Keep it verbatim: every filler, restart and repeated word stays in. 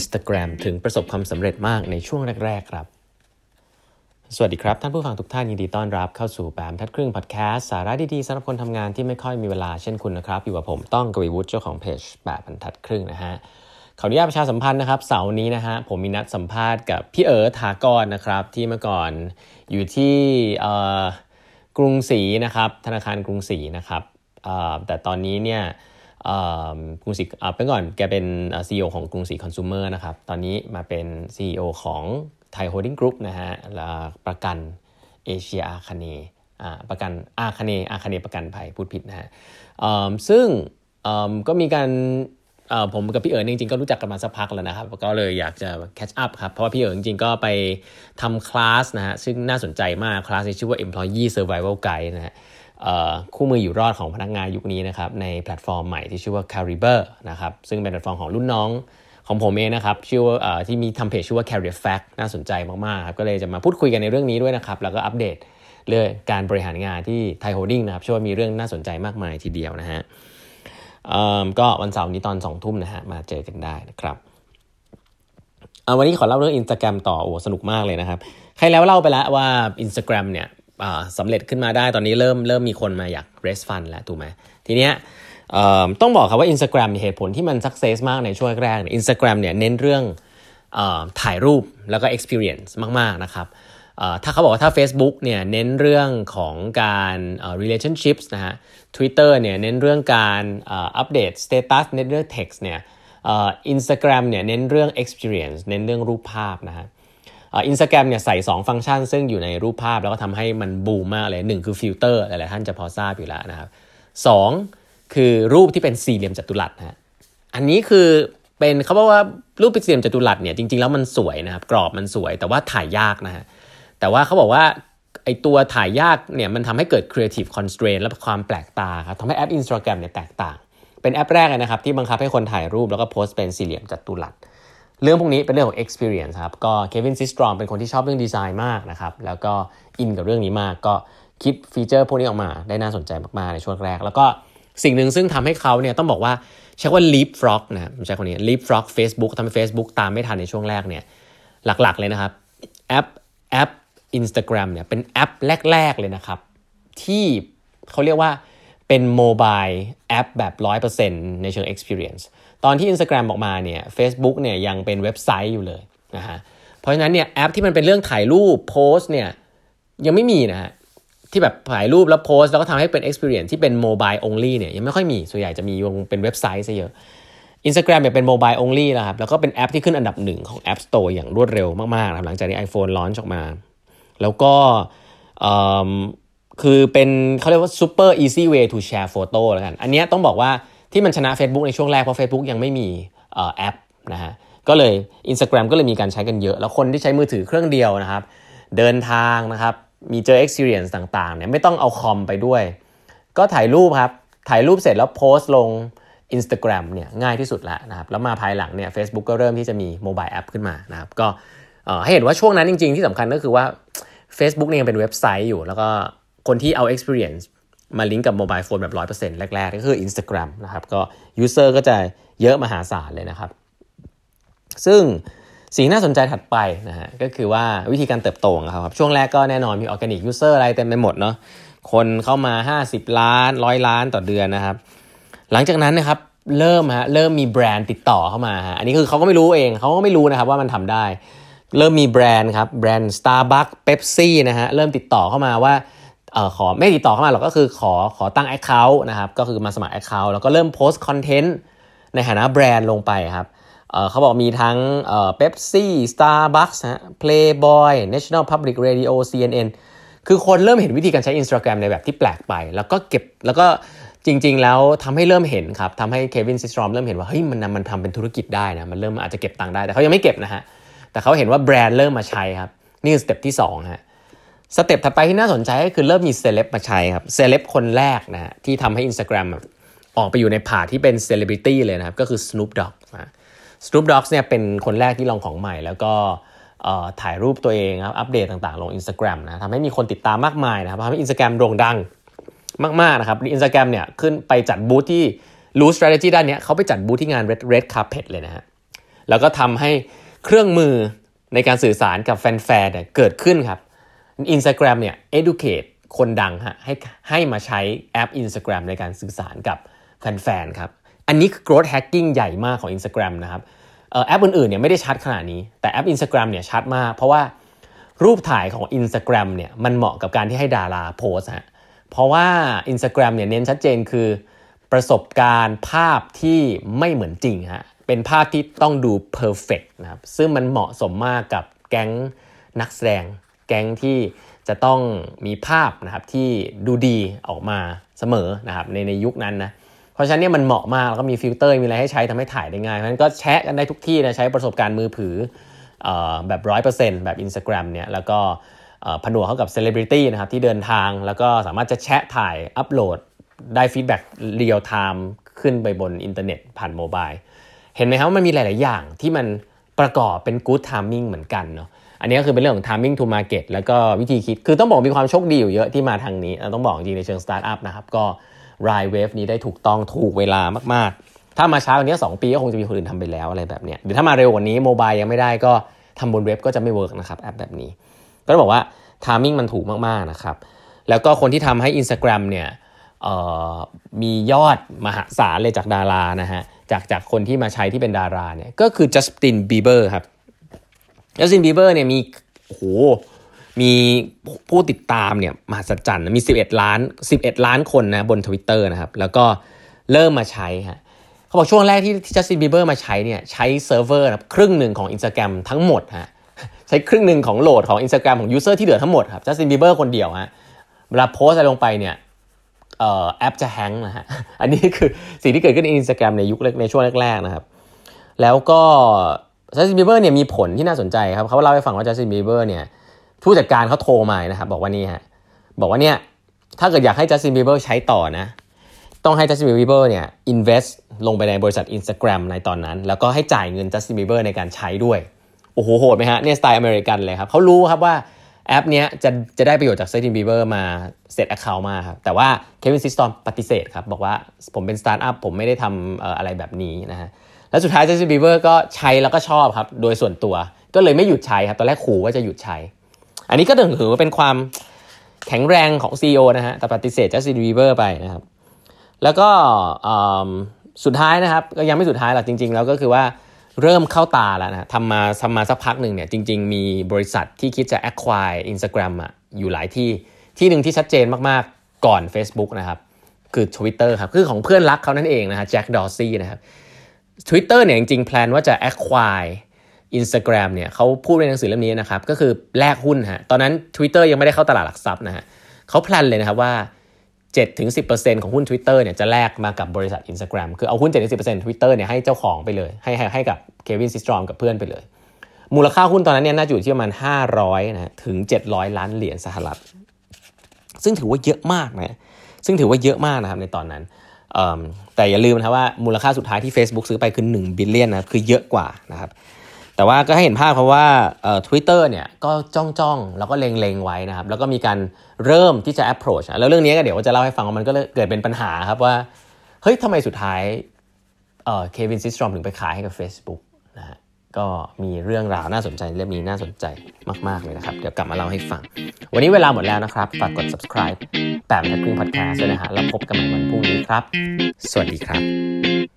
Instagram ถึงประสบความสำเร็จมากในช่วงแรกๆครับสวัสดีครับท่านผู้ฟังทุกท่านยินดีต้อนรับเข้าสู่แปมทัดครึ่งพอดแคสต์สาระดีๆสำหรับคนทำงานที่ไม่ค่อยมีเวลาเช่นคุณนะครับอยู่กับผมต้องกวีวุฒิเจ้าของเพจแปมบรรทัดครึ่งนะฮะขออนุญาตประชาสัมพันธ์นะครับเสาร์นี้นะฮะผมมีนัดสัมภาษณ์กับพี่เอ๋อถากรนะครับที่เมื่อก่อนอยู่ที่กรุงศรีนะครับธนาคารกรุงศรีนะครับแต่ตอนนี้เนี่ยกรุงศรีเป็นก่อนแกเป็น ซี อี โอ ของกรุงศรีคอน sumer นะครับตอนนี้มาเป็น ซี อี โอ ของไทยโฮลดิ้งกรุ๊ปนะฮะประกันเอเชียอาคเนย์ประกันอาคเนย์อาคเนย์ประกันภัยพูดผิดนะฮะซึ่งก็มีการผมกับพี่เอ๋อจริงๆก็รู้จักกันมาสักพักแล้วนะครับก็เลยอยากจะแคชอัพครับเพราะว่าพี่เอ๋อจริงๆก็ไปทำคลาสนะฮะซึ่งน่าสนใจมากคลาสนี้ชื่อว่า Employee Survival Guide นะฮะคู่มืออยู่รอดของพนักงานยุคนี้นะครับในแพลตฟอร์มใหม่ที่ชื่อว่า Caliber นะครับซึ่งเป็นแพลตฟอร์มของรุ่นน้องของผมเองนะครับชื่อว่าที่มีทำเพจชื่อว่า Career Fact น่าสนใจมากๆครับก็เลยจะมาพูดคุยกันในเรื่องนี้ด้วยนะครับแล้วก็อัปเดตเรื่องการบริหารงานที่ไทยโฮลดิ้งนะครับเชื่อว่ามีเรื่องน่าสนใจมากมายทีเดียวนะฮะก็วันเสาร์นี้ตอนสองทุ่มนะฮะมาเจอกันได้นะครับวันนี้ขอเล่าเรื่อง Instagram ต่อโอ้สนุกมากเลยนะครับใครแล้วเล่าไปแล้วว่า Instagram เนี่ยสำเร็จขึ้นมาได้ตอนนี้เริ่มเริ่มมีคนมาอยาก raise fund แล้วถูกไหมทีเนี้ยต้องบอกครับว่า Instagram เหตุผลที่มัน success มากในช่วงแรกเนี่ย Instagram เนี่ยเน้นเรื่องถ่ายรูปแล้วก็ experience มากๆนะครับถ้าเขาบอกว่าถ้า Facebook เนี่ยเน้นเรื่องของการ relationships นะฮะ Twitter เนี่ยเน้นเรื่องการอัปเดต status เน้นเรื่อง text เนี่ย Instagram เนี่ยเน้นเรื่อง experience เน้นเรื่องรูปภาพนะฮะอินสตาแกรมเนี่ยใส่สองฟังก์ชันซึ่งอยู่ในรูปภาพแล้วก็ทำให้มันบูมมากเลยหนึ่งคือฟิลเตอร์หลายๆท่านจะพอทราบอยู่แล้วนะครับสองคือรูปที่เป็นสี่เหลี่ยมจัตุรัสนะฮะอันนี้คือเป็นเขาบอกว่ารูปเป็นสี่เหลี่ยมจัตุรัสเนี่ยจริงๆแล้วมันสวยนะครับกรอบมันสวยแต่ว่าถ่ายยากนะฮะแต่ว่าเขาบอกว่าไอตัวถ่ายยากเนี่ยมันทำให้เกิด creative constraint และความแปลกตาครับทำให้แอป Instagram เนี่ยแตกต่างเป็นแอปแรกเลยนะครับที่บังคับให้คนถ่ายรูปแล้วก็โพสต์เป็นสี่เหลี่ยมจัตุรัสเรื่องพวกนี้เป็นเรื่องของ experience ครับก็เควินซิสตรอมเป็นคนที่ชอบเรื่องดีไซน์มากนะครับแล้วก็อินกับเรื่องนี้มากก็คิดฟีเจอร์พวกนี้ออกมาได้น่าสนใจมากๆในช่วงแรกแล้วก็สิ่งหนึ่งซึ่งทำให้เขาเนี่ยต้องบอกว่าใช้ว่า leapfrog นะผมใช้คนนี้ leapfrog Facebook ทำให้ Facebook ตามไม่ทันในช่วงแรกเนี่ยหลักๆเลยนะครับแอปแอป Instagram เนี่ยเป็นแอปแรกๆเลยนะครับที่เขาเรียกว่าเป็นโมบายแอปแบบ ร้อยเปอร์เซ็นต์ ในเชิง experienceตอนที่ Instagram ออกมาเนี่ย Facebook เนี่ยยังเป็นเว็บไซต์อยู่เลยนะฮะเพราะฉะนั้นเนี่ยแอปที่มันเป็นเรื่องถ่ายรูปโพสเนี่ยยังไม่มีนะฮะที่แบบถ่ายรูปแล้วโพสแล้วก็ทำให้เป็น experience ที่เป็น mobile only เนี่ยยังไม่ค่อยมีส่วนใหญ่จะมีวงเป็นเว็บไซต์ซะเยอะ Instagram เนี่ยเป็น mobile only แล้วครับแล้วก็เป็นแอปที่ขึ้นอันดับหนึ่งของ App Store อย่างรวดเร็วมากๆนะครับหลังจากที่ iPhone launch ออกมาแล้วก็คือเป็นเขาเรียกว่า super easy way to share photo แล้วกันอันนี้ต้องบอกว่าที่มันชนะ Facebook ในช่วงแรกเพราะ Facebook ยังไม่มีเอ่อแอปนะฮะก็เลย Instagram ก็เลยมีการใช้กันเยอะแล้วคนที่ใช้มือถือเครื่องเดียวนะครับเดินทางนะครับมีเจอ experience ต่างๆเนี่ยไม่ต้องเอาคอมไปด้วยก็ถ่ายรูปครับถ่ายรูปเสร็จแล้วโพสต์ลง Instagram เนี่ยง่ายที่สุดแล้วนะครับแล้วมาภายหลังเนี่ย Facebook ก็เริ่มที่จะมีโมบายแอปขึ้นมานะครับก็เอ่อให้เห็นว่าช่วงนั้นจริงๆที่สำคัญก็คือว่า Facebook เนี่ยยังเป็นเว็บไซต์อยู่แล้วก็คนที่เอา experienceมาลิงก์กับโมบายโฟนแบบ ร้อยเปอร์เซ็นต์ แรกๆก็คือ Instagram นะครับก็ user ก็จะเยอะมหาศาลเลยนะครับซึ่งสิ่งน่าสนใจถัดไปนะฮะก็คือว่าวิธีการเติบโตของเขาครับช่วงแรกก็แน่นอนมี organic user อะไรเต็มไปหมดเนาะคนเข้ามาห้าสิบล้านหนึ่งร้อยล้านต่อเดือนนะครับหลังจากนั้นนะครับเริ่มฮะเริ่มมีแบรนด์ติดต่อเข้ามาฮะอันนี้คือเขาก็ไม่รู้เองเขาก็ไม่รู้นะครับว่ามันทำได้เริ่มมีแบรนด์ครับแบรนด์ Starbucks Pepsi นะฮะเริ่มติดต่อเข้ามาว่าเอ่อขอไม่ติดต่อเข้ามาหรอกก็คือขอขอตั้ง account นะครับก็คือมาสมัคร account แล้วก็เริ่มโพสต์คอนเทนต์ในฐานะแบรนด์ลงไปครับเอ่อเขาบอกมีทั้งเอ่อ Pepsi Starbucks ฮะ Playboy National Public Radio ซี เอ็น เอ็น คือคนเริ่มเห็นวิธีการใช้ Instagram ในแบบที่แปลกไปแล้วก็เก็บแล้วก็จริงๆแล้วทำให้เริ่มเห็นครับทำให้เควินซิสตรอมเริ่มเห็นว่าเฮ้ยมันมันทำเป็นธุรกิจได้นะมันเริ่มอาจจะเก็บตังค์ได้แต่เขายังไม่เก็บนะฮะแต่เขาเห็นว่าแบรนด์เริ่มมาใช้ครับนี่คือสเต็ปที่สองฮะสเต็ปถัดไปที่น่าสนใจก็คือเริ่มมีเซเลบมาใช้ครับเซเลบคนแรกนะฮะที่ทำให้ Instagram ออกไปอยู่ในผ่าที่เป็นเซเลบริตี้เลยนะครับก็คือ Snoop Dogg นะ Snoop Dogg เนี่ยเป็นคนแรกที่ลองของใหม่แล้วก็ถ่ายรูปตัวเองครับอัปเดตต่างๆลง Instagram นะทำให้มีคนติดตามมากมายนะครับทำให้ Instagram โด่งดังมากๆนะครับ Instagram เนี่ยขึ้นไปจัดบูธที่รู้ strategy ด้านนี้เขาไปจัดบูธที่งาน Red Red Carpet เลยนะฮะแล้วก็ทำให้เครื่องมือในการสื่อสารกับแฟนๆเนี่ยเกิดขึ้นครับ Instagram เนี่ย educate คนดังฮะให้ให้มาใช้แอป Instagram ในการสื่อสารกับแฟนๆครับอันนี้คือ growth hacking ใหญ่มากของ Instagram นะครับเอ่อแอปอื่นๆเนี่ยไม่ได้ชัดขนาดนี้แต่แอป Instagram เนี่ยชัดมากเพราะว่ารูปถ่ายของ Instagram เนี่ยมันเหมาะกับการที่ให้ดาราโพสฮะเพราะว่า Instagram เนี่ยเน้นชัดเจนคือประสบการณ์ภาพที่ไม่เหมือนจริงฮะเป็นภาพที่ต้องดู perfect นะครับซึ่งมันเหมาะสมมากกับแก๊งนักแสดงแก๊งที่จะต้องมีภาพนะครับที่ดูดีออกมาเสมอนะครับในในยุคนั้นนะเพราะฉะนั้นเนี่ยมันเหมาะมากแล้วก็มีฟิลเตอร์มีอะไรให้ใช้ทำให้ถ่ายได้ง่ายเพราะฉะนั้นก็แชร์กันได้ทุกที่นะใช้ประสบการณ์มือถือเอ่อแบบ หนึ่งร้อยเปอร์เซ็นต์ แบบ Instagram เนี่ยแล้วก็ผนวกเข้ากับเซเลบริตี้นะครับที่เดินทางแล้วก็สามารถจะแชะถ่ายอัปโหลดได้ฟีดแบ็กเรียลไทม์ขึ้นไปบนอินเทอร์เน็ตผ่านโมบายเห็นไหมครับว่ามันมีหลายๆอย่างที่มันประกอบเป็น good timing เหมือนกันเนาะอันนี้ก็คือเป็นเรื่องของ timing to market แล้วก็วิธีคิดคือต้องบอกมีความโชคดีอยู่เยอะที่มาทางนี้ต้องบอกจริงในเชิงสตาร์ทอัพนะครับก็ ride wave นี้ได้ถูกต้องถูกเวลามากๆถ้ามาช้ากว่านี้สองปีก็คงจะมีคนอื่นทำไปแล้วอะไรแบบเนี้ยหรือถ้ามาเร็วกว่านี้โมบายยังไม่ได้ก็ทำบนเว็บก็จะไม่เวิร์กนะครับแอปแบบนี้ก็ต้องบอกว่า timing มันถูกมากๆนะครับแล้วก็คนที่ทำให้ Instagram เนี่ยมียอดมหาศาลเลยจากดารานะฮะจากจากคนที่มาใช้ที่เป็นดาราเนี่ยก็คือจัสตินบีเบอร์ครับจัสตินบีเบอร์เนี่ยมีโอ้โหมีผู้ติดตามเนี่ยมหัศจรรย์มีสิบเอ็ดล้านสิบเอ็ดล้านคนนะบน Twitter นะครับแล้วก็เริ่มมาใช้ฮะเขาบอกช่วงแรกที่ที่จัสตินบีเบอร์มาใช้เนี่ยใช้เซิร์ฟเวอร์นะครึ่งหนึ่งของ Instagram ทั้งหมดฮะใช้ครึ่งหนึ่งของโหลดของ Instagram ของยูเซอร์ที่เหลือทั้งหมดครับจัสตินบีเบอร์คนเดียวฮะเวลาโพสอะไรลงไปเนี่ยเอ่อแอปจะแฮงก์นะฮะอันนี้คือสิ่งที่เกิดขึ้นใน Instagram ในยุคในช่วงแรกๆนะครับแล้วก็จัสตินบีเบอร์เนี่ยมีผลที่น่าสนใจครับเขาเล่าให้ฟังว่าจัสตินบีเบอร์เนี่ยผู้จัดการเขาโทรมานะครับบอกว่านี่ฮะบอกว่าเนี่ยถ้าเกิดอยากให้จัสตินบีเบอร์ใช้ต่อนะต้องให้จัสตินบีเบอร์เนี่ย invest ลงไปในบริษัท Instagram ในตอนนั้นแล้วก็ให้จ่ายเงินจัสตินบีเบอร์ในการใช้ด้วยโอ้โหโหดไหมฮะเนี่ยสไตล์อเมริกันเลยครับเขารู้ครับว่าแอปเนี้ยจะจะได้ประโยชน์จากจัสตินบีเบอร์มาเซต account มาครับแต่ว่าเควินซิสตอมปฏิเสธครับบอกว่าผมเป็นสตาร์ทอัพผมไม่ได้ทำเอ่ออะไรแบบนี้นะฮะแล้วสุดท้ายจัสตินบีเบอร์ก็ใช้แล้วก็ชอบครับโดยส่วนตัวก็เลยไม่หยุดใช้ครับตอนแรกขู่ว่าจะหยุดใช้อันนี้ก็ถือว่าเป็นความแข็งแรงของ ซี อี โอ นะฮะแต่ปฏิเสธจัสตินบีเบอร์ไปนะครับแล้วก็สุดท้ายนะครับก็ยังไม่สุดท้ายหรอกจริงๆแล้วก็คือว่าเริ่มเข้าตาแล้วนะทำมาทำมาสักพักหนึ่งเนี่ยจริงๆมีบริษัทที่คิดจะ acquire Instagram อ่ะอยู่หลายที่ที่หนึ่งที่ชัดเจนมากๆก่อน Facebook นะครับคือ Twitter ครับคือของเพื่อนรักเขานั่นเองนะฮะแจ็คดอร์ซี่นะครับ Twitter เนี่ยจริงๆแพลนว่าจะ acquire Instagram เนี่ยเขาพูดในหนังสือเล่มนี้นะครับก็คือแลกหุ้นฮะตอนนั้น Twitter ยังไม่ได้เข้าตลาดหลักทรัพย์นะฮะเขาแพลนเลยนะครับว่า เจ็ดถึงสิบเปอร์เซ็นต์ ของหุ้น Twitter เนี่ยจะแลกมากับบริษัท Instagram คือเอาหุ้น เจ็ดถึงสิบเปอร์เซ็นต์ Twitter เนี่ยให้เจ้าของไปเลยให้ให้ให้กับเควินซิสตรอมกับเพื่อนไปเลยมูลค่าหุ้นตอนนั้นเนี่ยน่าจะอยู่ที่ประมาณห้าร้อยนะถึงเจ็ดร้อยล้านเหรียญสหรัฐซึ่งถือว่าเยอะมากนะซึ่งถือว่าเยอะมากนะครับในตอนนั้นแต่อย่าลืมนะว่ามูลค่าสุดท้ายที่ Facebook ซื้อไปคือหนึ่งบิลเลียนนะครับคือเยอะกว่านะครับแต่ว่าก็ให้เห็นภาพเพราะว่าเอ่อ Twitter เนี่ยก็จ้องๆแล้วก็เล็งๆไว้นะครับแล้วก็มีการเริ่มที่จะ approach แล้วเรื่องนี้ก็เดี๋ยวจะเล่าให้ฟังว่ามันก็เกิดเป็นปัญหาครับว่าเฮ้ยทำไมสุดท้ายเอ่อเควินซิสตรอมถึงไปขายให้กับ Facebook นะฮะก็มีเรื่องราวน่าสนใจเรื่องนี้น่าสนใจมากๆเลยนะครับเดี๋ยวกลับมาเล่าให้ฟังวันนี้เวลาหมดแล้วนะครับฝากกด subscribe แปดบรรทัดครึ่ง podcast ด้วยนะฮะแล้วพบกันใหม่วันพรุ่งนี้ครับสวัสดีครับ